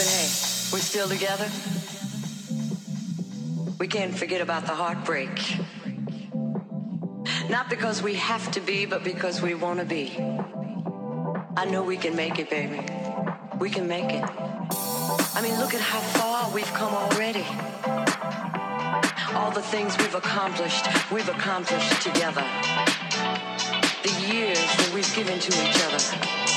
But hey, we're still together. We can't forget about the heartbreak. Not because we have to be, but because we want to be. I know we can make it, baby. We can make it. I mean, look at how far we've come already. All the things we've accomplished together. The years that we've given to each other.